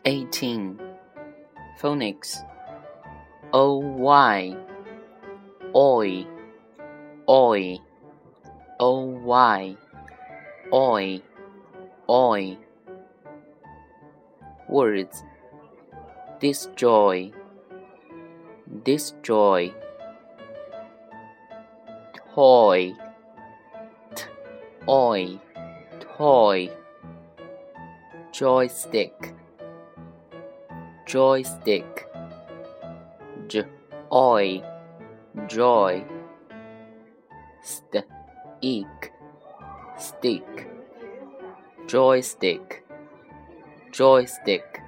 18. Phonics. oy, oi, oi, oy, oi, oi. Words. Destroy, destroy. Toy, toy, toy. Joystick, joystick. Joy, joy. Stick, stick. Joystick, joystick.